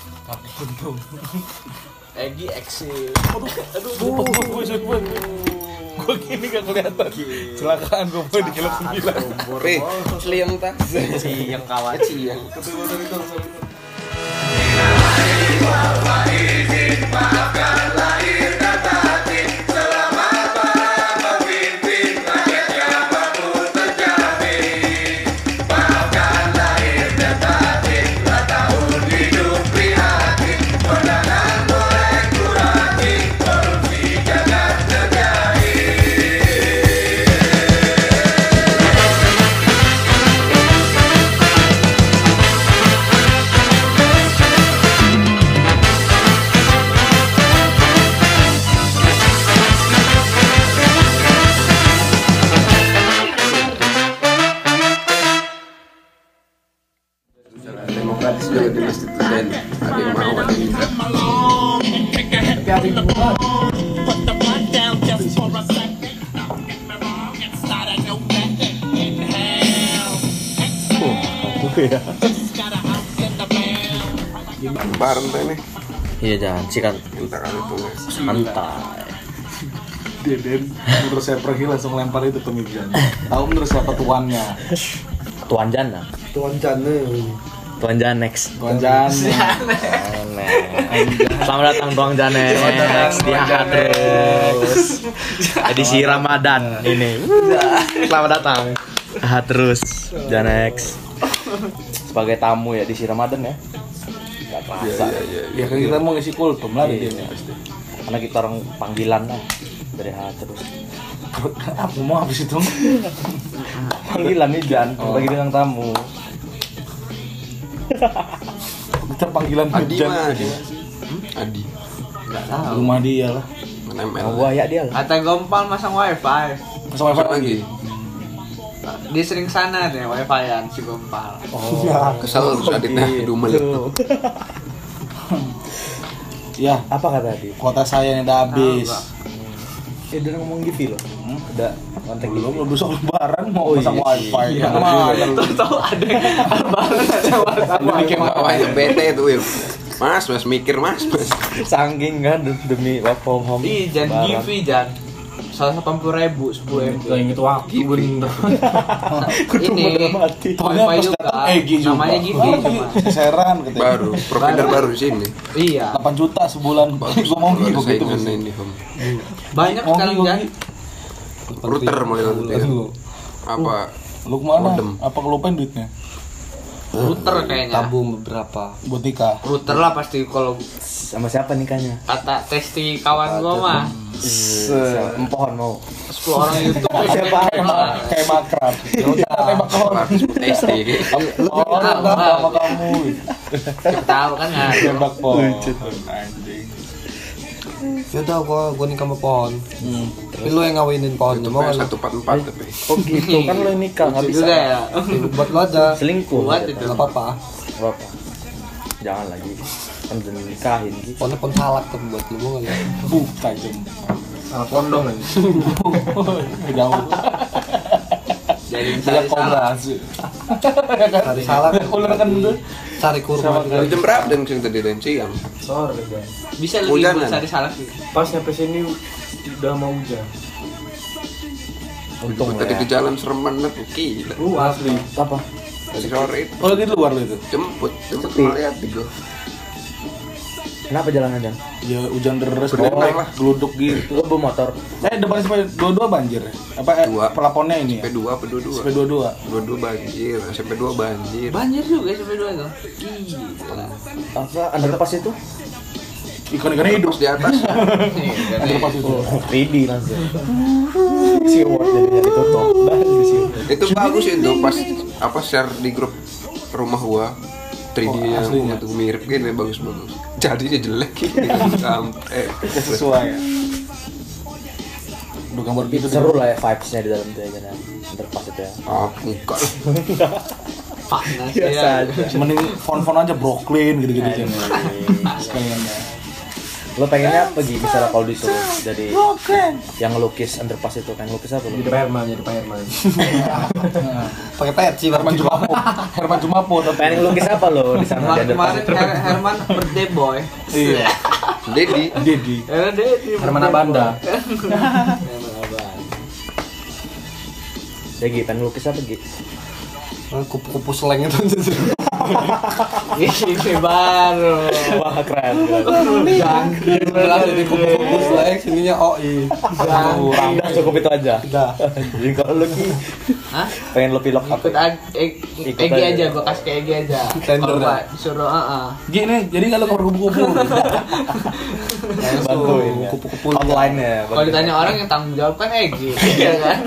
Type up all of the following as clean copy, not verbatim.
Kaki buntung. Egi eksis. Aduh, gue gini gak kelihatan. Celakaan gue mau di kilo 9. Seliang tak? Ciyeng kawan. Ciyeng. Demokratis juga di masjid itu dan ada yang mau ada yang tidak. Tapi ada yang buat. Bareng teh nih. Iya jangan sikat Minta kan itu nggak. santai. Deden menurut saya pergi langsung lempar itu ke meja. Tahu menurut siapa tuannya? Tuan Jana. Tuan Jane. Tuan Janex. Tuan Jane. Selamat datang Tuan Janex di terus. Edisi Ramadan ini. Selamat datang. Terus Janex. Sebagai tamu ya di Ramadan ya. Gak terasa. Ya kan kita mau ngisi kultum lah di sini. Karena kita orang panggilan lah dari terus. Aku mau habis itu. Panggilan nih Jan, bagi bintang tamu. Kita panggilan Adi hujan. mah Adi. Adi. Enggak tahu. Rumah dia lah. Mana ML? Oh, buaya dia lah. Kata Gompal masang wifi. Masuk wifi lagi. Dia sering sana deh wifi-an si Gompal. Oh. Kesel terus aditnya dumel itu. Ya, Apa kata dia? kota saya yang udah habis. Dia ngomong gitu loh. Udah kontak Belum gitu. besok lebaran mau Oh, pasang iya sih. wifi. Iya, Mana? Tahu ada baru ada Ini kayak bawahnya bete itu Wil. Mas mikir mas. Saking kan demi work from home. Ih, jangan givi Jan. 180.000 10 MB. Ingat waktu bener. Ini mati. Pokoknya wifi pas juga. datang Egi juga. Namanya Givi cuma. Seran katanya. Baru, provider baru di sini. Iya. 8 juta sebulan. Gua mau Baru gitu gitu. saingan ini Om. Banyak sekarang Jan. Router mulai waktu itu. Aduh. Apa? Lu kemana? Modem. Apa kelupain duitnya? Router kayaknya. Tabung beberapa. Buat nikah. Router lah pasti kalau Sama siapa nikahnya? kata testi kawan gua mah. Pohon mau. 10 orang YouTube Siapa? Kayak makrab. Ya udah tembak pohon. SD. Oh, sama kamu. tahu kan ya. Tembak pohon. Anjing. Ya udah gua nikah sama pohon. Tapi lu yang ngawinin pohonnya mau Mau enggak? 144 tapi. Oh gitu kan lo yang nikah nggak bisa. Juga ya. Buat lu aja. Selingkuh. Buat itu. Enggak apa-apa. Berapa? Jangan lagi. Kan udah nikahin gitu. Pohonnya pohon salak tuh buat lu mau enggak? Tajam. Salak kondong aja. Jauh. Jadi Saya misalnya kobra. Cari salak, Ular kan itu. cari kurma. Lu jam berapa dan sing tadi dan siang? Sore kan. bisa lebih Hujanan. buat cari salak gitu. Pas nyampe sini udah mau hujan. Untung Tadi ya. ke jalan serem banget, gila. Asli. Apa? Dari sore itu Oh, di luar lu itu. jemput Sepi. lihat di gua. Kenapa jalan aja? Ya hujan deras Bener lah. geluduk gitu. Lo bawa motor. Depan sampai 22 banjir ya? Apa Dua. pelaponnya ini ya? SMP2 apa 22? Sampai 22. 22 banjir, SMP2 banjir. Banjir juga sampai 2 tuh. Gila. Apa? Underpass itu? Ikan-ikannya hidup. Terus di atas Underpass itu. 3D langsung. Siwot jadinya ditutup. itu bagus itu pas apa share di grup rumah gua 3D Oh, yang aslinya. itu mirip gini bagus-bagus. Jadinya jelek sampai Gak sesuai ya. Udah gambar gitu Seru lah ya vibes-nya di dalam tuh ya kan. Underpass itu ya. oh enggak Panas Biasa ya. aja. Mending font-font aja Brooklyn gitu-gitu sih. Sekalian ya. Lo pengennya apa Gi? Misalnya kalau disuruh jadi yang ngelukis underpass itu, pengen lukis apa lo? Jadi Pak Herman. Pakai peci Herman Jumapo. Pengen ngelukis apa lo di sana di underpass? Kemarin Herman birthday boy. Iya. Dedi. Era Dedi. Herman Abanda. Ya Gi, pengen lukis apa Gi? kupu-kupu seleng itu. Ini baru. Wah keren. Sebelah jadi kupu-kupu seleng, sininya OI. Udah cukup itu aja. Udah. Jadi kalau lo Gi, Hah? pengen lo pilok apa? Ikut Egi aja, gua kasih ke Egi aja. Tender Kalau dah. Pak disuruh Gini, jadi kalau ke kupu-kupu. Bantuin ya. Kupu-kupu Outline-nya. Kalau ditanya orang yang tanggung jawab kan Egi, ya kan?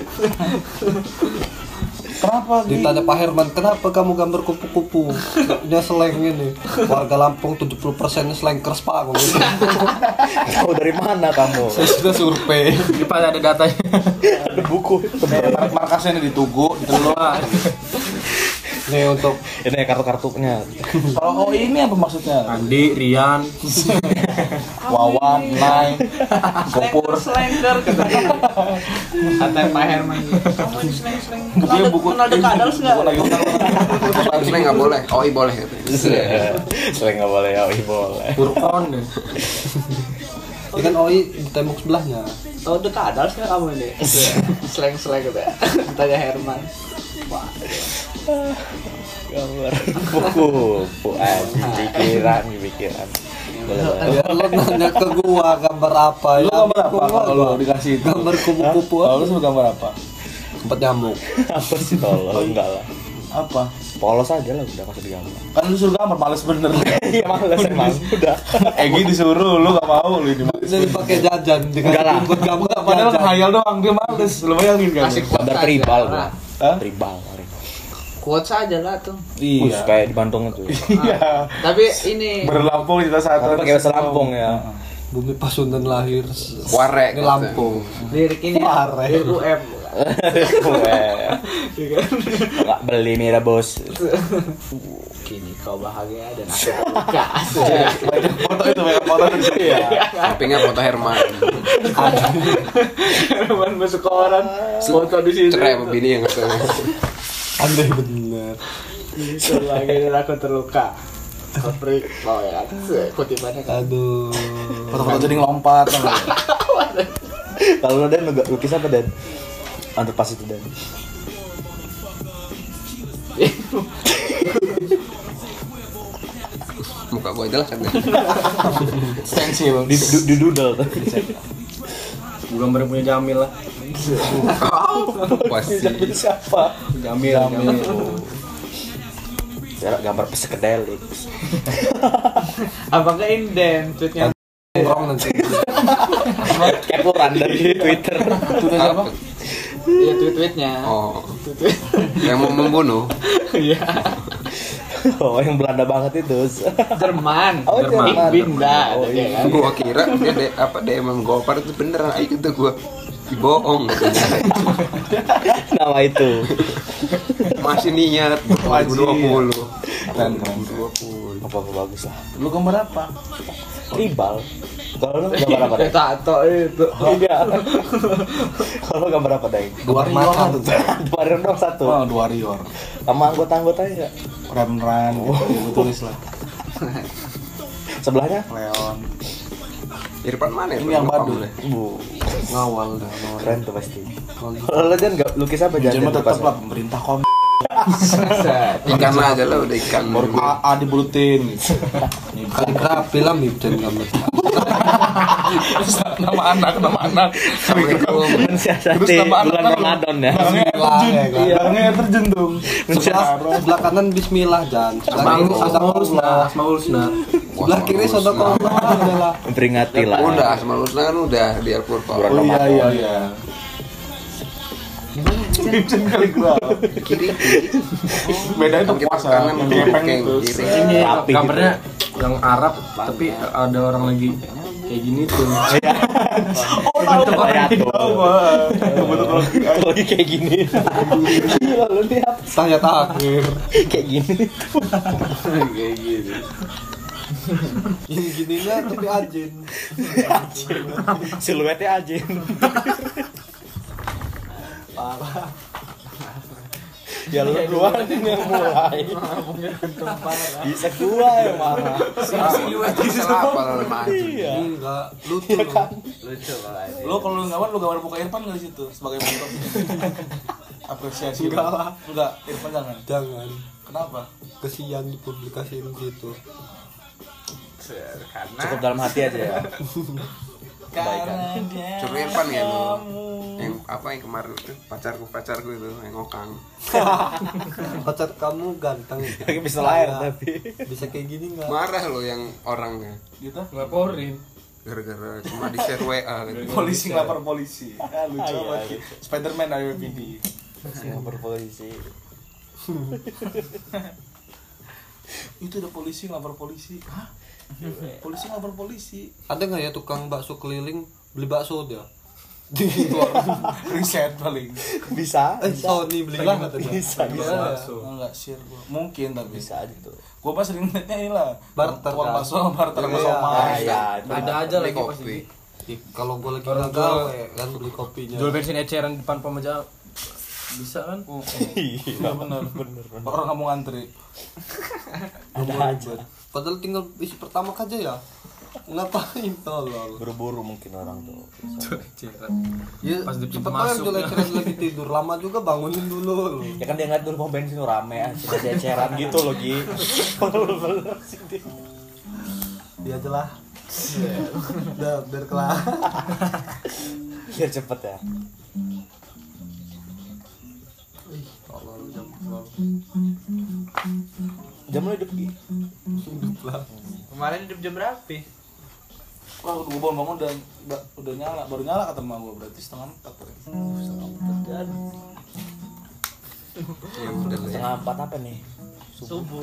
Kenapa? Gi? Ditanya Pak Herman, kenapa kamu gambar kupu-kupu? Nya seleng ini. Warga Lampung 70%-nya selengkers Pak. Aku gitu. Tahu dari mana kamu? Saya sudah survei. Di pas ada datanya. Ada buku. Markasnya ini di Tugu, di Teluk. Nih untuk Ini kartu-kartunya. Kalau ini apa maksudnya? Andi, Rian, Wawan, Nai, Gopur. Selengker katanya. Kata Pak Herman. Kamu ini seleng-seleng. Buktinya buku Kenal The Cuddles nggak? Seleng nggak boleh. OI boleh. Selain nggak boleh, ya boleh. Burkon. ini kan OI di tembok sebelahnya. Tahu The Cuddles nggak kamu ini? Seleng-seleng gitu ya. Tanya Herman. Gambar buku pikiran. Ya, lo nanya ke gua gambar apa? Lu Ya, gambar apa kalau lu dikasih itu? gambar kupu-kupu. Kalau lu suka gambar apa? Tempat nyamuk. Apa sih tolong? Enggak lah. Apa? Polos aja lah udah masuk di gambar. Kan lu suruh gambar, males bener. Iya males emang. Udah. Egi disuruh, lu gak mau lu ini. Jadi pakai jajan Enggak lah. buat gambar Padahal jajan. ngayal doang, dia males. Lu bayangin kan? Kasih Gambar quotes tribal aja. gua. Hah? Tribal. Quotes aja lah tuh. Iya. Iya. Kayak di Bandung itu. Iya. Tapi ini Berlampung kita satu. Tapi pakai bahasa Lampung ya. Bumi Pasundan lahir. Warek. Ini Lampung. lirik ini Parah. lirik UM. Enggak beli mira bos. Kini kau bahagia dan aku terluka. Banyak foto itu, banyak foto itu. Iya. Sampingnya foto Herman. Herman masuk ke orang foto di sini. Cerai sama bini yang katanya. Andai bener. Lagi dan aku terluka. Koprik, mau ya kan? Kutipannya kan. Aduh. Foto-foto jadi ngelompat. Kalau lo Dan lukis apa Dan? Underpass itu Dan. Muka gua aja lah kan. Stensil. Di doodle tuh. Gue gambar punya Jamil lah. Pasti. Siapa? Jamil. Ya gambar psikedelik. Apakah inden tweetnya? Nongkrong nanti. Kepuran dari Twitter. Itu apa? Iya tweetnya. Oh. Yang mau membunuh. Iya. Oh yang Belanda banget itu. Jerman. Oh, Jerman. Binda. Oh, iya. Gua kira dia DM Gopar itu beneran. Ayo kata gua. Bohong. Nama itu. Masih niat 2020. Keren. Apa bagus lah. Lu gambar apa? Tribal. Kalau lo gambar apa Deng? Tato itu. Iya. Kalau lo gambar apa Deng? Dua mata tuh. Dua dong satu. Oh, The Warrior. Sama anggota-anggotanya nggak? Ran gitu, gua tulis lah. Sebelahnya? Leon. Irfan mana? Ini yang Lupa Badul. mulai. Ngawal dah. Keren tuh pasti. Kalau lo Jan nggak lukis apa Jan? Jadi mah tetap lah pemerintah kom. Ikan aja lah udah ikan. A dibulutin. Kaligrafi lah Mibden gambar. Nama anak. Assalamualaikum. Mensiasati Terus nama bulan anak Ramadan ya. Barangnya air terjun. Bismillah, ya kan? Barangnya air terjun dong. Sebelah kanan Bismillah Jan. Sebelah kiri Asmaul Husna. Sadaqallah. Asmaul Husna. Sebelah kiri Sadaqallah adalah. Memperingati lah. Udah, Asmaul Husna kan udah di Al-Qur'an. Oh iya. Vincent kaligraf. Kiri. Beda itu Kan kita puasa. kanan Gepeng kayak itu. kiri. Ini Rapi gambarnya yang Arab tapi ada orang lagi kayak gini tuh. Oh, tahu Kayak tuh. Betul. Lagi kayak gini. Gila lu nih apa? Tanya takhir. Kayak gini. Kayak gitu. Yang gininya tapi anjing. Siluetnya anjing. Parah. Ya lu duluan yang mulai. Bisa gua yang marah. Siluet salah apa sama anjing. Iya. Enggak, lucu kan. Lucu banget. Lo kalau lu gambar, lu gambar muka Irfan nggak di situ sebagai bentuk apresiasi? Enggak lah. Enggak, Irfan jangan. Jangan. Kenapa? Kesian dipublikasiin gitu. Karena Cukup dalam hati aja ya. Karena dia Coba Irfan ya lu. kamu. Yang apa yang kemarin itu pacarku itu yang ngokang. Pacar kamu ganteng. Lagi bisa lahir tapi. Bisa kayak gini enggak? Marah lo yang orangnya Gitu. Laporin. gara-gara cuma di share WA gitu. Polisi ngelapor polisi. Ah, lucu Iya, banget. gitu. Spiderman RPD. Singapura polisi. Itu ada polisi ngelapor polisi. Hah? Polisi ngelapor polisi. Ada nggak ya tukang bakso keliling beli bakso dia? Riset paling. Bisa. Sony belilah katanya. Bisa. Enggak share gua. Mungkin tapi Bisa aja tuh. gua mah sering liatnya ini lah. Barter, Uang kan? bakso, barter Iya, bakso mas. ya, Ada aja Beli lagi kopi. pasti. Ih, kalau gue lagi Orang gagal tua- kan beli kopinya. Jual bensin eceran di depan pemaja bisa kan? Iya benar. Orang kamu ngantri. Ada aja. Padahal tinggal isi pertama aja ya. Ngapain tolol? Buru-buru mungkin orang tuh. Jual eceran. Ya, Pas di pintu cepet aja masuk. jelek-jelek lagi tidur. Lama juga bangunin dulu. Ya kan dia ngeliat dulu pom bensin rame aja, eceran gitu loh Gi. Dia aja lah. Udah biar kelar. Biar cepet ya. Jam lu hidup Gi. Hidup lah. kemarin hidup jam berapa? Wah, gua bangun udah nyala, baru nyala kata emak gua, berarti setengah 4 tadi. Ya udah lah ya. Setengah 4 apa nih? Subuh.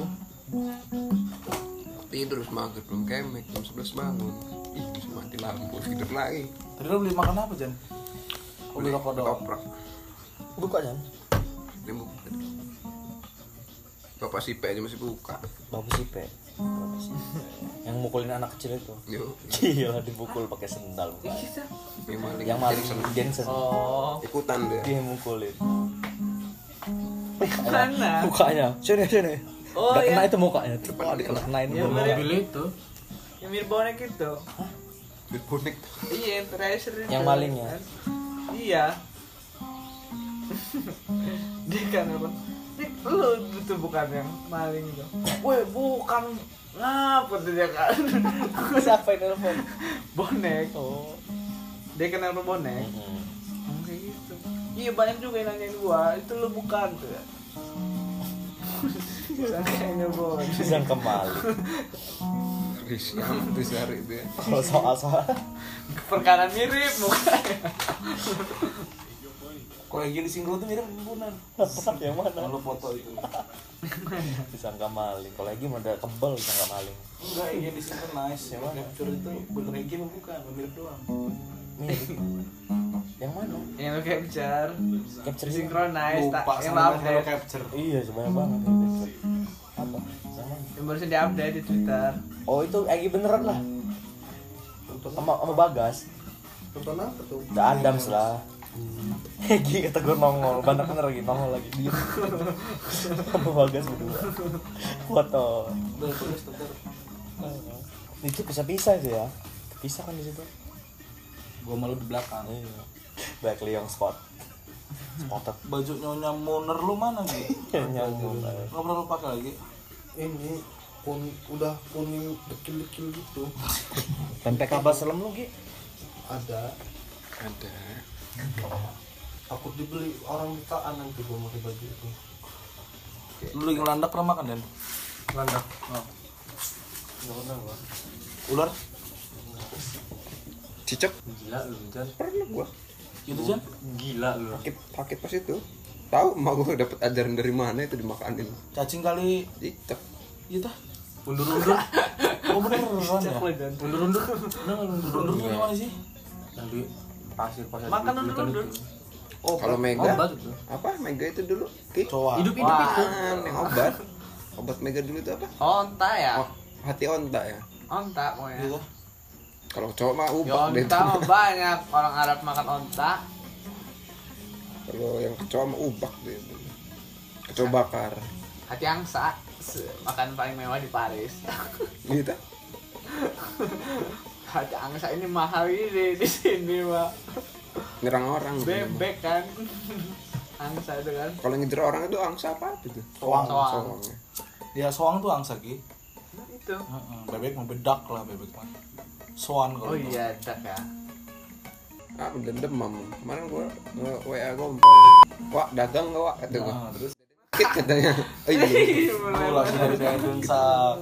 Tidur habis maghrib belum kemek jam 11 bangun. Ih, bisa mati lampu tidur lagi. Tadi lo beli makan apa, Jan? Oh, beli rokok doang. Ketoprak. Buka Jan. Dia buka. Bapak si P aja masih buka. Bapak Sipe. Yang mukulin anak kecil itu. Yuk, Gila dipukul pakai sendal. yang maling. Yang maling Jensen. Jensen. Oh, Ikutan dia. Dia yang mukulin. mana? Mukanya. Sini. Oh, Udah kena ya. itu mukanya. Wah, dikenain Ya, dulu. bener. Mobil itu. Yang mirip bonek itu. Duit bonek. Iya, yang Tracer itu. Yang malingnya? Iya. Dia kan apa? Dik, lu itu bukan yang maling itu. Woi, bukan. Ngapa tuh dia kan? Siapa yang telepon? Bonek. Oh. Dia kenal bonek. Oh, kayak gitu. Iya, banyak juga yang nanyain gua, itu lu bukan tuh ya. Sangkanya bonek. Disangka maling. Risam tuh sehari itu ya. Kalau soal Perkara mirip mukanya. Kalau yang gini single tuh mirip pembunuhan. yang mana? Kalau foto itu. Disangka maling. Kalau lagi mah udah kebel disangka maling. Enggak, yang gini single nice. Yang capture itu bener yang gini bukan, mirip doang. Mirip. Yang mana? Yang lu capture, Capture synchronize, Lupa yang sama lu yang update. capture. Iya, sebanyak banget yang capture. Apa? Yang mana? Yang barusan di-update di Twitter. Oh, itu Egi beneran lah. Sama Bagas. Tonton apa tuh? Udah Adams lah. Egi kata gue nongol, banyak bener lagi nongol lagi dia. Sama Bagas berdua. Foto. Udah tulis Twitter. Itu pisah-pisah itu ya. Pisah kan di situ. Gua malu di belakang. Iya. Back Leong spot. Spotted. Baju nyonya Moner lu mana gitu? Nyambung. Nggak pernah lu pakai lagi? Ini udah kuning dekil-dekil gitu. Tempe kabel selem lu Gi. Ada. Ada. Takut dibeli orang bukaan nanti gua pakai baju itu. Lu lagi ngelandak pernah makan, Dan? Landak. Oh. Enggak pernah gua. Ular? Cicak. Gila lu, Jan. Pernah gua. Gitu, Jan? Gila lu. Sakit pas itu. Tahu mau gua dapat ajaran dari mana itu dimakanin. Cacing kali. Cicak. Iya dah. Undur-undur. Oh beneran ya? Undur-undur. Nah, Undur gimana sih? Yang di pasir-pasir. Makan di hutan undur-undur. itu. Oh, kalau Mega. Obat itu. Apa? Mega itu dulu. Ki. Coa. Hidup-hidup itu. Yang obat. Obat Mega dulu itu apa? Onta ya? Oh, hati onta ya. Onta pokoknya. Gitu. Kalau cowok mah Ya ubak deh. onta mah banyak orang Arab makan onta. Kalau yang cowok mah ubak deh. Kecoa bakar. Hati angsa makan paling mewah di Paris. Gitu. Hati angsa ini mahal ini di sini mah. Nyerang orang. Bebek kan. Angsa itu kan. Kalau ngejar orang itu angsa apa itu? Soang. Soang. Ya soang tuh angsa Ki. Nah, itu. Bebek mah bedak lah bebek mah. Soan kalau. Oh iya, dak ya. Ah, udah demam. Kemarin gua WA gompal. Wah, dagang enggak, Wak? Kata gua. Nah, terus Kit katanya. Oh iya. lu langsung dari Medan sak.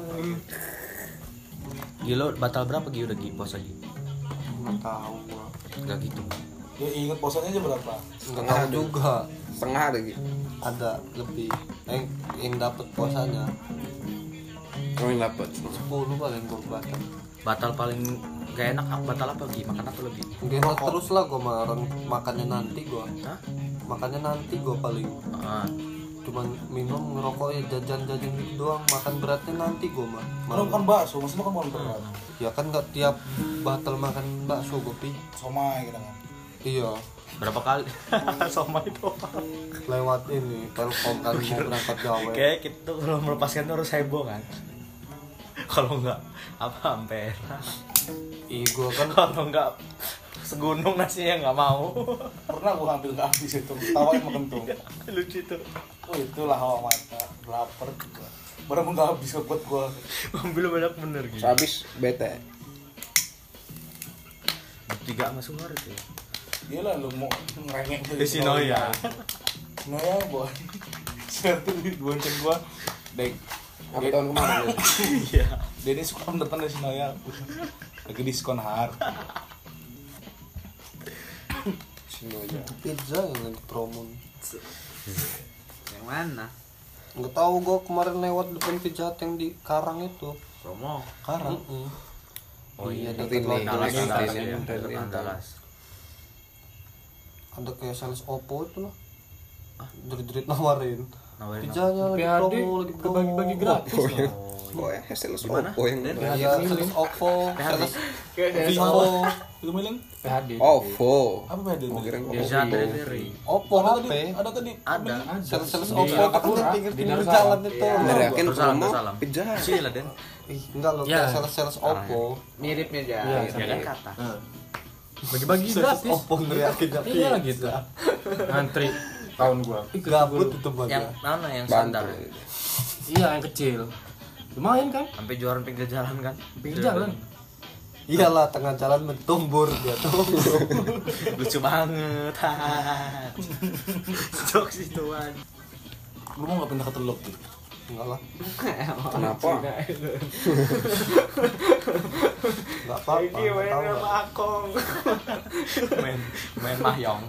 Gila batal berapa Gi udah Gi puasa Gi? Enggak tahu gua. Enggak gitu. Ya inget posanya aja berapa? Enggak tahu juga. Setengah ada gitu. Ada lebih yang dapat puasanya Oh, yang dapat. 10 paling gue batal. Batal paling gak enak batal apa Gi? Makan apa lebih? Gak terus lah gue marah makannya nanti gue. Hah? Makannya nanti gue paling. Ah, Cuman minum ngerokok ya jajan-jajan gitu doang. Makan beratnya nanti gue mah. Lu kan bakso, maksudnya kan bukan berat. Ya kan gak tiap batal makan bakso gue pi. Somai gitu kan. Iya. berapa kali? Sama itu. Lewat ini Telkom kan mau berangkat gawe. Kayak kita tuh kalau melepaskan tuh harus heboh kan. Kalau enggak apa ampera. Ih gue kan Kalau enggak segunung nasinya nggak mau. Pernah gua ngambil ke habis itu, tawain makan tuh. Lucu tuh. Oh itulah hawa mata, lapar gua. Baru nggak habis buat gua. Ambil banyak bener gitu. Habis bete. 3 sama Sumar itu. Gila lu mau ngerengek tuh. Di Sinoya. Sinoya boy. Satu di bonceng gua. Dek. Apa tahun kemarin? Iya. Dia ini suka datang dari Sinoya. Lagi diskon har. Sini aja. pizza yang lagi promo. Yang mana? Nggak tahu gue kemarin lewat depan Pizza Hut yang di Karang itu. Promo. Karang. Oh iya, dekat Ini, Andalas, ini, Andalas ini, ya. ini. Andalas. Ada kayak sales Oppo itu lah. Jerit-jerit nawarin. Nawarin Pizzanya lagi PHD promo, lagi promo. bagi-bagi gratis. Oh ya. Oh, Oh ya, hasil Gimana? Oppo yang Iya, sales Oppo, sales Kayak Vivo, Itu miling? PHD. Oppo. Apa beda? Mau kira bisa Oppo. delivery. Oppo Ada HP. tadi, ada tadi. Ada. Sales Di Oppo kan Kapura, di pinggir-pinggir di jalan Darussalam. itu. Bener yakin Darussalam, promo Darussalam. pizza. Sila Den. Ih, enggak loh, Ya. kayak sales Oppo. miripnya aja. Iya, Ya kan kata. Bagi-bagi gratis. Oppo ngeriakin Iya gitu. Ngantri tahun gua. gabut itu mah. Yang mana yang standar? Bantu. Iya yang kecil. Lumayan kan? Sampai jualan pinggir jalan kan? Pinggir jalan. Iyalah tengah jalan mentumbur dia tuh. Lucu banget. Jokes ituan. Lu mau nggak pindah ke Teluk tuh? Enggak lah, Kenapa? enggak apa-apa. Enggak tahu lah. Akong. main mahjong.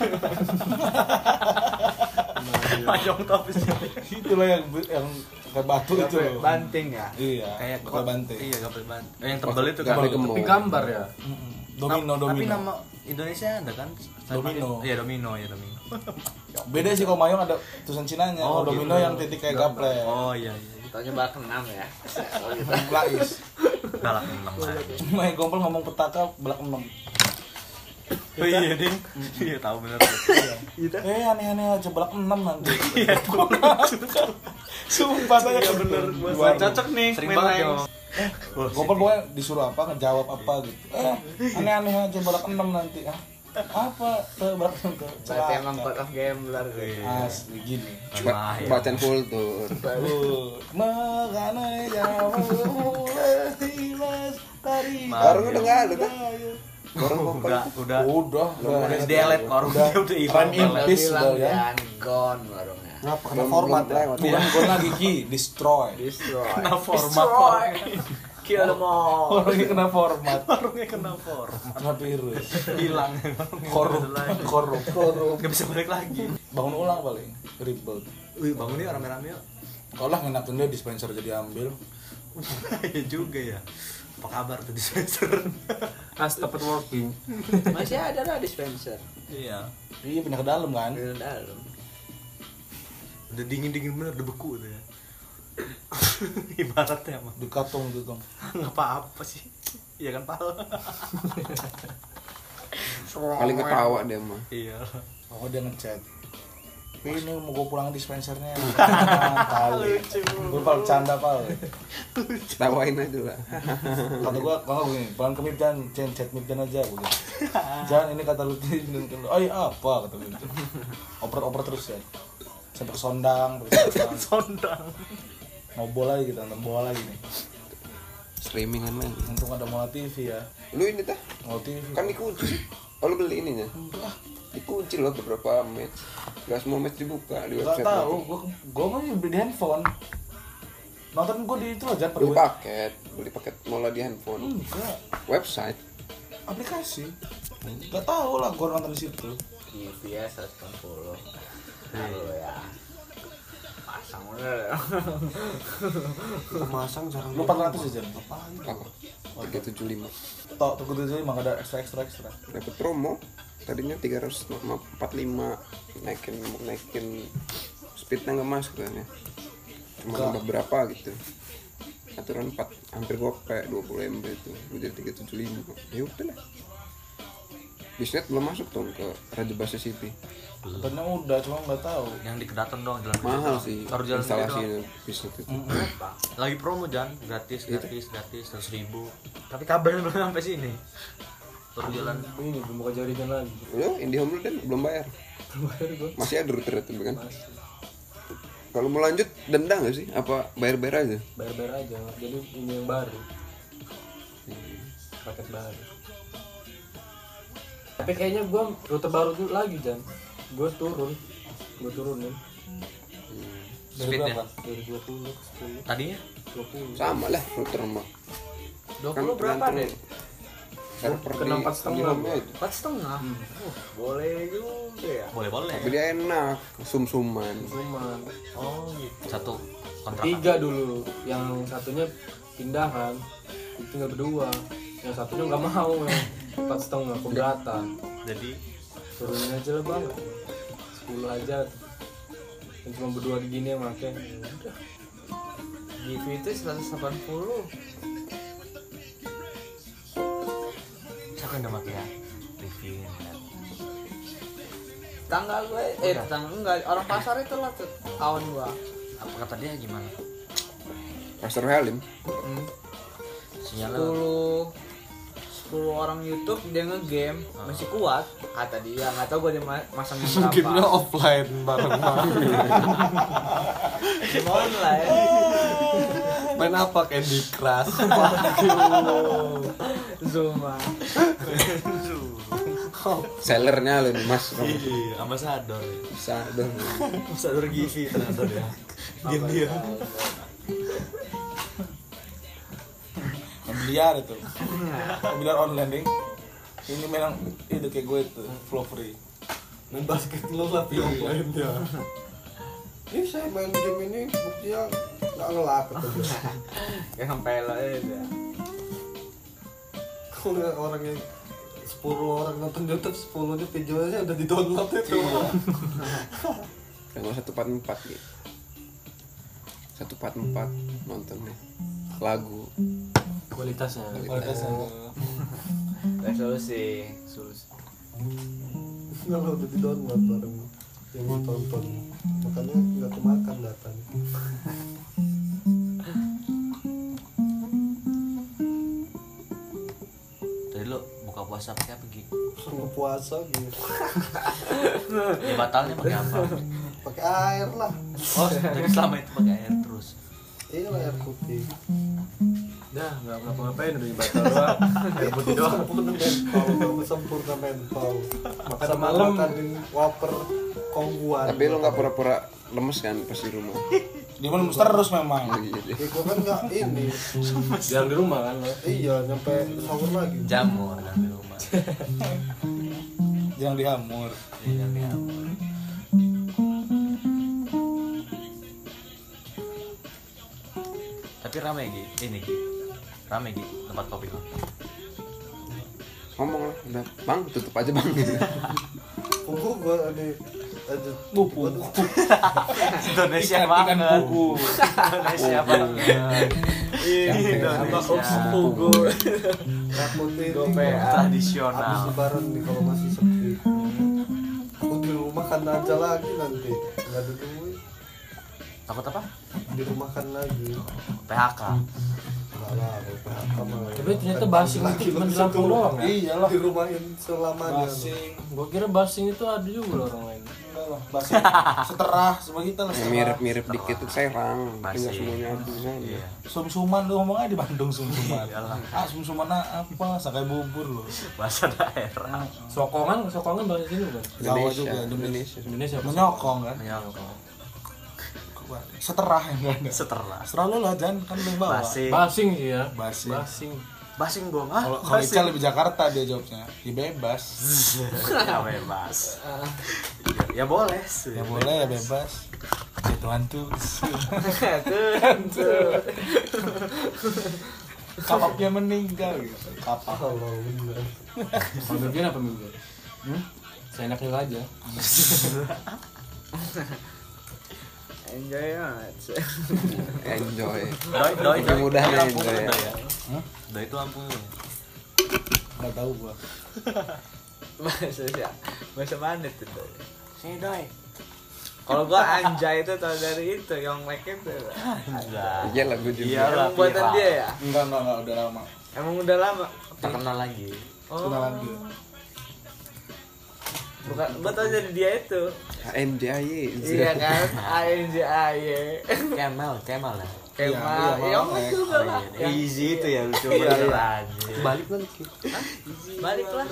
Mahjong tuh apa sih? Itulah yang kayak batu itu loh. Banting ya. Iya. Kayak Kayak banting. Iya, gapel banting. Yang tebal itu Gapel kan. gemuk. Tapi gambar ya. Domino, Tapi domino. nama Indonesia ada kan? Domino. Iya, domino, ya domino. Beda sih kalau mayong ada tulisan Cinanya. Oh, Kalau domino gitu. yang titik kayak gaplek. Oh iya iya. Taunya bak 6 ya. Oh gitu. Blais. Galak 6 aja. Cuma yang gompel ngomong petaka belak 6. Oh iya, Ding. Iya, tahu bener. Aneh-aneh aja belak 6 nanti. Iya, sumpah saya bener. Cocok nih. Sering main banget lain. dong. Gompel pokoknya disuruh apa, ngejawab apa gitu. Aneh-aneh aja belak 6 nanti. Apa? Belak 6 tuh. Berarti emang code of gambler gitu. Asli gini. Bacaan full tuh. Makanya jauh hilas dari. Orang udah nggak ada kan? Orang kompel. Udah Udah. di delete orang dia udah hilang. Prime Impis Bilang udah ya. jangan gone warungnya. Kenapa kena format ya? Bukan gon lagi Ki, destroy. Destroy. Kena format. Destroy. Kill them all. Orangnya kena format, Warungnya kena format. kena virus, Hilang. korup. Enggak bisa balik lagi. Bangun ulang paling, reboot. Wih, bangun nih rame-rame yuk. Kalau lah ngenakin dia dispenser jadi ambil. Iya juga ya. Apa kabar tuh dispenser? As tempat working. Masih ada lah dispenser. Iya. Iya pindah ke dalam kan. Di dalam. Udah dingin-dingin bener, udah beku tuh ya. Ibaratnya mah. Di katung gitu. Enggak apa-apa sih. Iya kan, Pal? Paling ketawa dia mah. Iya. Oh dia ngechat. Ini mau gue pulang dispensernya. Kali. Gue pal bercanda pal. Tawain aja lah. Kata gue kalau begini, pulang ke Mipjan, chat Mipjan aja gue. Jangan ini kata lu ini. Oh iya apa kata gue. Oper terus ya. Sampai ke Sondang, Sondang. mau bola lagi kita nonton bola lagi nih. Streamingan lagi. Untung ada Mola TV ya. Lu ini tah? Mola TV. Kan dikunci. Oh lu beli ininya? Dikunci loh beberapa match. Gak semua match dibuka di Gak website. tahu, gue mah beli di handphone. Nonton gue di itu aja Beli paket Mola di handphone. Enggak, Website. aplikasi. Gak tahu lah gue nonton di situ. TV 180. Halo ya. Pasang bener. Masang jarang. Lu 400 aja. Apa? 375. Tok, tuh gue emang ada ekstra. Dapat promo. Tadinya 345 naikin speednya nggak masuk kan ya. Cuma nambah berapa gitu. Aturan 4 hampir gope 20 MB itu. Jadi 375. Ya udah lah. Bisnet belum masuk dong ke Raja Basa City. Katanya udah, cuma nggak tahu. Yang di Kedaton dong, jalan Mahal gede. sih Baru jalan gede instalasi doang. bisnet itu. Lagi promo Jan, gratis 100.000. Tapi kabelnya belum sampai sini. Baru jalan. Ini belum buka jaringan lagi. Udah, IndiHome lu dan belum bayar. Bayar gua. Masih ada router itu kan. Kalau mau lanjut denda nggak sih? Apa bayar-bayar aja? Bayar aja. Jadi ini yang baru. Paket baru. Tapi kayaknya gua rute baru tuh lagi Jan. Gua turunin Dari Speednya. berapa? dari 20 ke 10. Tadinya 20. Sama lah router mah. 20 berapa deh? Server Kena di 4,5. IndiHome-nya itu. 4,5. Boleh juga ya. boleh. Tapi dia enak, sum-suman. Cuman Oh gitu. Satu kontrak. 3 dulu. Yang satunya pindahan. Tinggal berdua. Yang satunya nggak mau ya. 4,5 keberatan. Jadi Turunin aja lah bang. 10 aja. Yang cuma berdua di gini yang make. Udah. GV itu 180. siapa yang udah mati ya? Review. Tangga gue, tangga enggak, orang pasar itu lah tuh, kawan gua. Apa kata dia gimana? Pastor Halim. Sinyalnya 10 orang YouTube dia nge-game masih kuat kata dia, nggak tahu gue dia masangnya berapa. Gamenya offline bareng-bareng. Game online. Main apa? Candy Crush. Zuma. Sellernya loh nih mas. iya, ambasador. Bisa dong. Ambasador Givi ternyata dia. Diam dia. Biliar itu. Biliar online ding. Ini memang itu kayak gue itu flow free. Main basket lo tapi offline ya. Ini saya main game ini buktinya nggak ngelak gitu. Kayak sampai lo ya. Kalau lihat orang yang 10 orang nonton YouTube, 10-nya videonya udah di-download itu. Yang 144 gitu. 144 nontonnya. Lagu. Kualitasnya. Resolusi. Kalau udah di-download bareng yang ditonton, makanya nggak kemakan datanya. Tadi lo buka puasa pakai apa Gi? Sama puasa gitu. Ya, batalnya pakai apa? Pakai air lah. Oh, jadi selama itu pakai air terus. Iya lah air putih. Dah, nggak ngapa-ngapain udah batal doang. Air putih doang. Sempurna mental, kamu sempurna mental. Makan Sama malam malam. makanin wafer kongguan. Tapi lo nggak pura-pura lemes kan pas di rumah. Dia mau lemes terus memang. Oh, iya deh. Ya gua kan nggak ini. Yang di rumah kan lo. Iya, nyampe sahur lagi. Jamur kan di rumah. Jangan dihamur. Iya, jamur. Tapi rame Gi, ini Gi. Rame Gi tempat kopi lo. Ngomong lah, udah bang tutup aja bang gitu. Punggu gua ada lanjut. Buku. Indonesia Ikan banget. buku. Indonesia banget. Indonesia. Pugu. Takutnya ini Gope. habis Tradisional. lebaran nih kalau masih sepi. Aku di rumah kan aja lagi nanti. Nggak ada duit. Takut apa? Di rumah kan lagi. PHK. Enggak lah, kalau PHK malah. Tapi ternyata basing itu cuma di Lampung doang ya? Iyalah. Di rumahin selamanya. Basing. Gua kira basing itu ada juga loh orang lain. Enggak lah, basing. Seterah sama kita lah. Yang seterah. mirip-mirip dikit tuh Serang, tapi nggak Masih. semuanya ada di sana. Iya. Sum-suman lu ngomongnya di Bandung sum-suman. Iyalah. Ah, sum-suman apa? Sakai bubur loh. Bahasa daerah. Sokongan bahasa sini bukan? Jawa Indonesia, juga, Indonesia. Indonesia. Menyokong kan? Menyokong. Seterah yang enggak ada. Setelah. Seterah lu lah Jan, kan lu yang bawa. Basing. Basing sih ya. Basing. Basing. Basing gong. Ah, Kalau Ical lebih Jakarta dia jawabnya. Ya bebas. ya bebas. Ya boleh. Ya boleh ya bebas. Ya Tuhan tuh. Kapaknya meninggal gitu. Kapak. Kalau bener. Kalau mimpiin apa mimpi? Seenaknya aja. Enjoy banget. Enjoy. Doi Lebih mudah nih, Lampung Doi. kan, Doi ya? Hah? Doi itu Lampung. Enggak tahu gua. Bahasa siapa? Bahasa mana tuh? Sini Doi. Kalau gua anjay itu tau dari itu yang make itu. Enggak. Iya lah gue juga. Iya lah, Emang buatan viral. dia ya? Enggak udah lama. Emang udah lama. Tak kenal lagi. Oh, Kenalan dia. bukan, gua tau dari dia itu. HMDAY. Iya kan? ANJAY. Kemal ya. Kemal. Iya, Ya Malang, juga lah. Yang Easy itu ya lucu Iya, banget iya. anjir. Balik lagi. balik lah.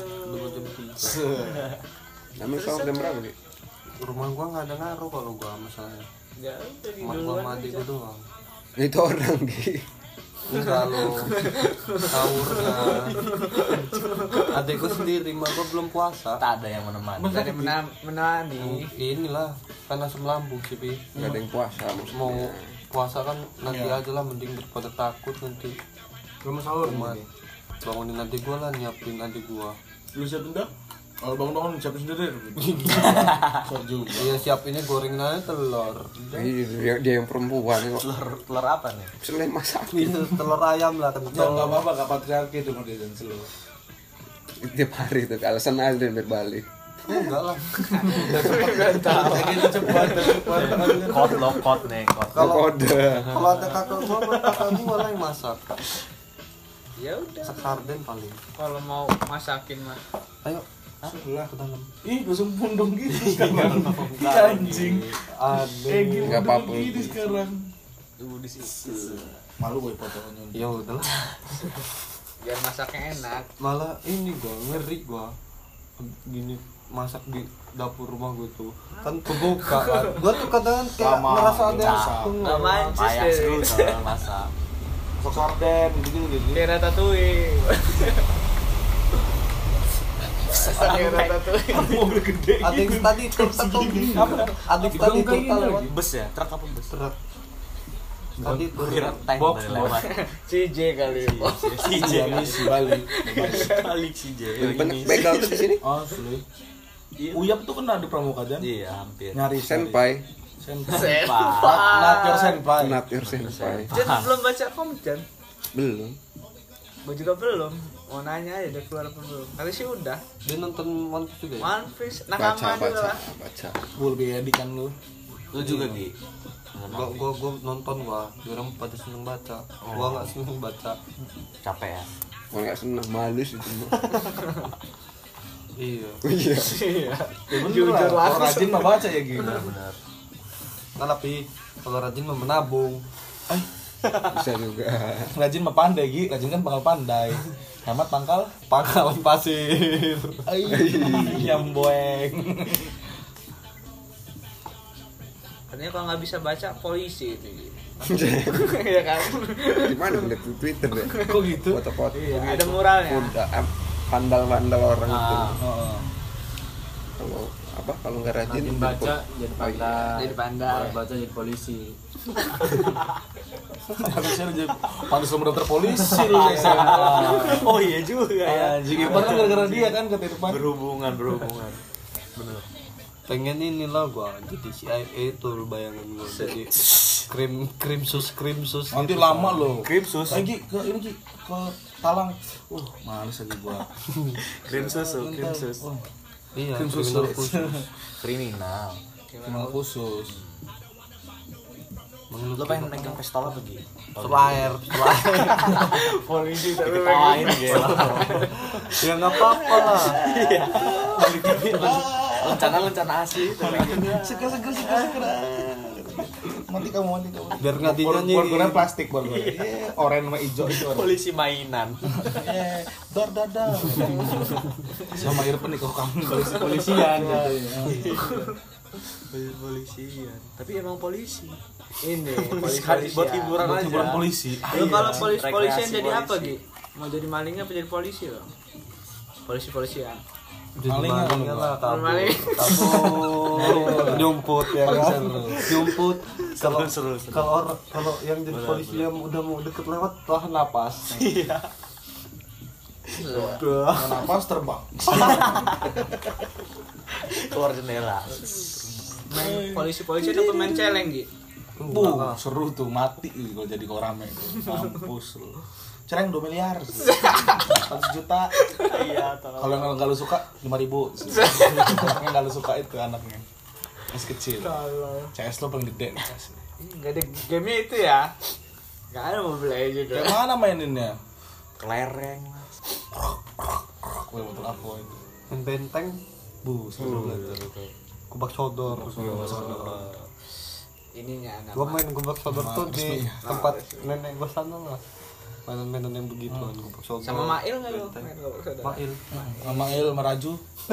Namanya soal jam berapa sih? Rumah gua nggak ada ngaruh kalau gua masalahnya. Ya udah di Mak gua duluan sama aja. adik gua doang. Itu orang di. Enggak lo. Sahurnya. Adik gua sendiri, mak gua belum puasa. Tak ada yang menemani. Dari menemani. Inilah kan asam lambung sih, Pi. Gak ada yang puasa Mau maksudnya. puasa kan nanti Iya. aja lah, mending daripada takut nanti. Belum sahur Cuma nih. bangunin adik gua lah, nyiapin adik gua. Lu siapin dah? Kalau bangun-bangun siapin sendiri. Soal juga. Iya, siapinnya gorengin aja telur. Dia yang perempuan kok. Telur apa nih? Selain masak Itu telur ayam lah Ya enggak kencol. apa-apa, enggak patriarki itu model dan selalu. tiap hari tuh alasan aja dan berbalik. Enggak lah. Kayak gitu cepat. Kot lo kot nih kot. Kode. Kalau ada kakak gua, kakak gua lah yang masak. Ya udah. Sekarden paling. Kalau mau masakin mah. Ayo, Sebelah. ke dalam. Ih, langsung pundung gitu sekarang. Iya anjing. Aduh. Gitu Nggak apa-apa. gini sekarang. Di situ. Malu gue fotonya. Ya udahlah. Biar masaknya enak. Malah ini gua ngeri gua. Gini masak di dapur rumah gua tuh kan kebuka kan. Gua tuh kadang kayak Lama, merasa ada yang masak. tunggu. Gak mancis Payah deh. dulu soal masak. Masak sarden gitu. Kayak ratatouille. Kayak ratatouille. Mobil gede. Adik tadi satu adik tadi Kayak gini lewat lagi. Bus ya, truk apa bus? truk. Tadi tuh Kira tank Box, dari lewat. CJ kali. CJ Iya, misi balik. balik CJ. Banyak begal tuh di sini. Oh, sulit. Uyap tuh kena di Pramuka Jan. Iya, hampir. Nyari Senpai, Senpai. Pak. Not your senpai. not your senpai. Jan belum baca komik Jan. Belum. Gue juga belum. Mau nanya aja udah keluar apa belum. Kali sih udah. dia nonton One Piece juga ya? One Piece nakama juga lah. baca. Gue lebih edik kan lu. Lu juga Gi. Gua nonton gua, dia orang pada seneng baca. Gua nggak seneng baca. Capek ya. Kalau nggak seneng malus itu mah. Iya. Iya. Iya. Jujur lah. Kalau rajin mah baca ya gitu. Benar. Nah, tapi kalau rajin mah menabung. Bisa juga. Rajin mah pandai Gi. Rajin kan pangkal pandai. Hemat pangkal. Pangkalan pasir. Nyamboeng. Katanya kalau nggak bisa baca polisi itu. Iya kan? Di mana ngeliat di Twitter deh. Kok gitu? Foto-foto. Ada muralnya. Udah pandal-pandal orang itu. Heeh. Kalau apa? Kalau nggak rajin Rajin baca jadi pandai. Jadi pandai. Malas baca jadi polisi. Harusnya lu jadi pantas nomor daftar polisi lu SMA. Oh iya juga ya. Anjing, Irfan kan gara-gara dia kan kata Irfan. Berhubungan. Bener. pengen inilah gua jadi CIA itu bayangan gua jadi krim sus Nanti gitu, lama Pak. loh. Krimsus. Lagi ke ini Ki, ke Talang. Males lagi gua. Krimsus. Oh, Iya krim sus. kriminal khusus. Kriminal. Kriminal khusus. Lo pengen megang pistol apa Gi? Flyer polisi tapi Ketawain gitu. ya nggak apa-apa lah. Lencana asli. Seger. Mati kamu. Biar nggak dinyanyi. Borgornya plastik borgornya. Oranye sama hijau itu. Polisi mainan. Dor. Sama Irfan nih kok kamu polisian Polisian. Tapi emang polisi. ini Sekali buat hiburan buat aja. hiburan polisi. Lu kalau Rekreasi polisian jadi apa polisi. Gi? Mau jadi malingnya apa jadi polisi lo? Polisian. Jadi Malingnya malingnya kalau lah kabur Maling. nyumput ya kan nyumput Seru. kalau yang jadi polisi yang udah mau deket lewat tahan napas udah Napas terbang. Keluar jendela. Main polisi-polisi apa main celeng Gi? Seru tuh mati kalau jadi korame. Mampus lu. Cereng 2 miliar. 100 juta. Iya, Kalau yang enggak lu suka 5.000. Yang enggak lu suka itu anaknya. Masih kecil. CS lo paling gede. Enggak ada game itu ya. Enggak ada Mobile Legends. Kayak mana maininnya? kelereng. Wih, betul aku itu. yang benteng Seru banget. kubak sodor Ininya anak. gua main kubak sodor tuh di resmi. tempat nenek gua sana lah mainan-mainan yang begitu kan kubak sodor Sama Mail enggak lu? Main enggak saudara. Mail Sama Il meraju.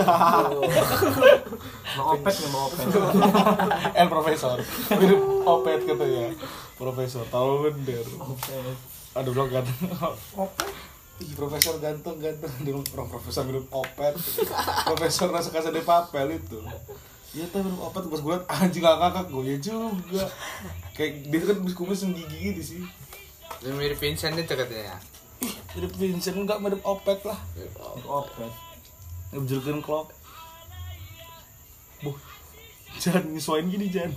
mau opet nggak mau opet El profesor. Mirip Opet katanya. Profesor tahu bener. Aduh lo ganteng. Opet. Ih, profesor ganteng. Dia orang profesor mirip Opet. Profesor rasa Casa de Papel itu. Iya tuh mirip Opet pas gue liat anjing ngakak gue ya juga. Kayak dia kan kumis yang gigi gitu sih. Lu mirip Vincent itu katanya. Mirip Vincent enggak mirip Opet lah. Opet. Ngejelkin klok. Jangan nyesuaiin gini Jan.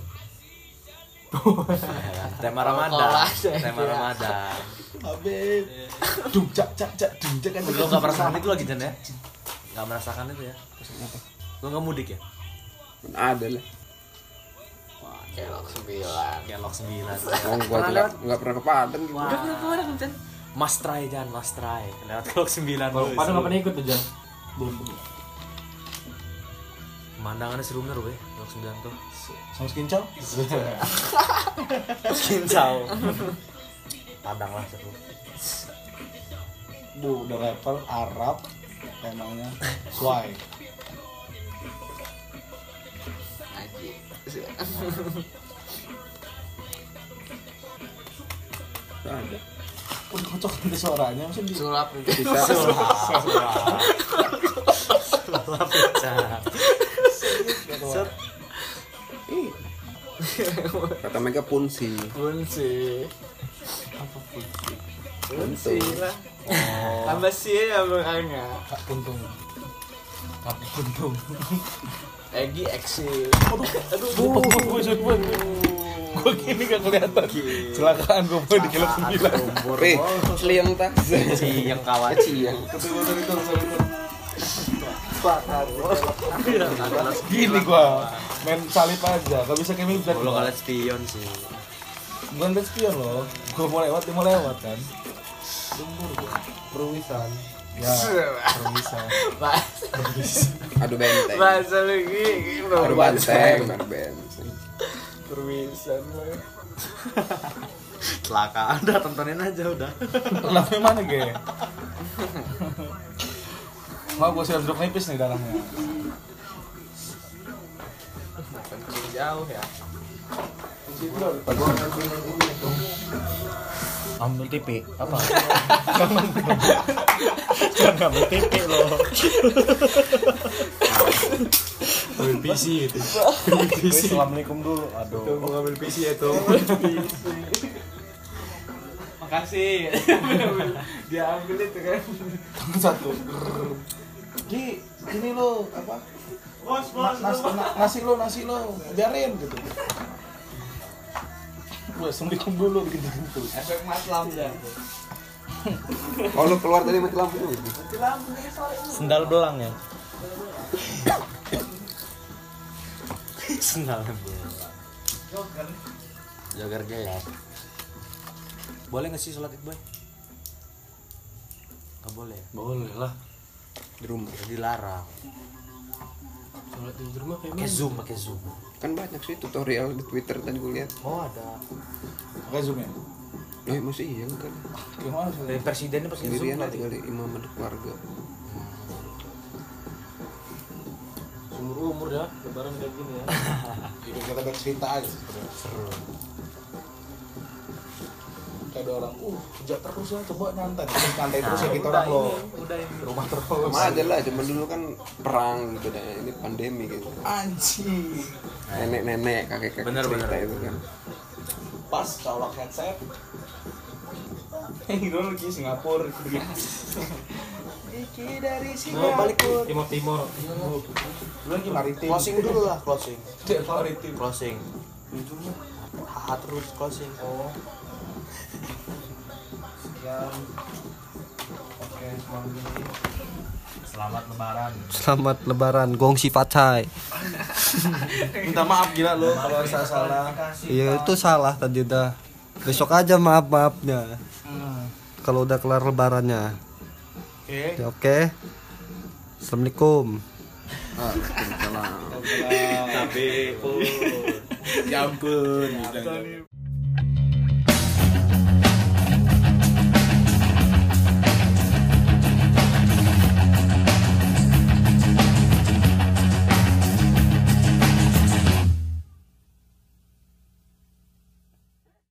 Tema Ramadan. Tema Ramadan. Abe. Dung cak kan. Lo nggak merasakan itu lagi Jan ya? Nggak merasakan itu ya? Lo nggak mudik ya? Ada lah. Wah, kelok 9. Kelok 9. Oh, gua nggak pernah ke Padang gitu. Udah pernah Jan? Mas try Jan, mas try. Lewat Kelok 9. Padahal nggak pernah ikut tuh Jan. Pemandangannya seru bener weh, Kelok 9 tuh. Sama skincau. Kincau. Padang lah seru. Udah rapper Arab temanya Swai. Ngaji. Ada. Udah kocok nanti suaranya maksudnya di Sulap itu. Bisa. Kata mereka punsi. Punsi. apa punsi Punsi lah. Tambah sih ya makanya. Kak Puntung. Egi Eksi. Gue gini gak kelihatan. Celakaan gue di kilo 9. Seliang tak. Yang kawan Ciang. Gini gue main salib aja. Gak bisa kayak Mibzat. Lo kalian spion sih. Bukan liat spion loh. Gue mau lewat, dia mau lewat kan. perwisan Ya, bisa. Adu benteng. Bahasa lagi. Adu banteng. Adu benteng. Perwisan lah. Celaka ada tontonin aja udah. Kenapa mana ge? Mau gue siap duduk nipis nih darahnya. Kencing jauh ya. Ambil TV apa? Jangan ambil TV loh. Ambil PC itu. Assalamualaikum dulu. Aduh. Mau ngambil PC itu. Makasih. Dia ambil itu kan. Satu. Gi, ini lo apa? nasi lo biarin gitu. Gue assalamualaikum dulu gitu. Efek matlam dah. Oh lu keluar tadi mati lampu dulu. Sendal belang ya. Sendal belang. Jogar gelap. Boleh nggak sih sholat id boy? Nggak boleh. Boleh lah. Di rumah. Dilarang. Sholat di rumah kayak Pakai zoom. Kan banyak sih tutorial di Twitter tadi gue lihat. Oh ada. Pakai zoom ya. Masih iya kan. Gimana sih? Dari presidennya pasti zoom Sendirian nanti. aja kali imam ada keluarga. umur ya, lebaran kayak gini ya. Hidup kita bercerita aja sebenarnya. Seru. Kayak ada orang, kerja terus ya, coba nyantai terus ya kita orang lo. Udah ini. Rumah terus. Sama aja lah, cuman dulu kan perang gitu dan ini pandemi gitu. Anjing. Nenek-nenek, kakek-kakek Bener, cerita bener. itu kan. Pas colok headset. Dulu lagi Singapura gitu. Iki dari Mau balik Singapura. Timur Timur. Lu lagi maritim. Closing dulu lah, closing. Dia maritim. Closing. Terus closing. Oh. Sekian. Oke, selamat lebaran. Selamat lebaran, gongsi facai. Minta maaf gila lo kalau saya salah. Iya itu salah tadi udah. Besok aja maafnya. Kalau udah kelar lebarannya. Oke. Ya, oke. Assalamualaikum. Waalaikumsalam. Tapi Ya ampun.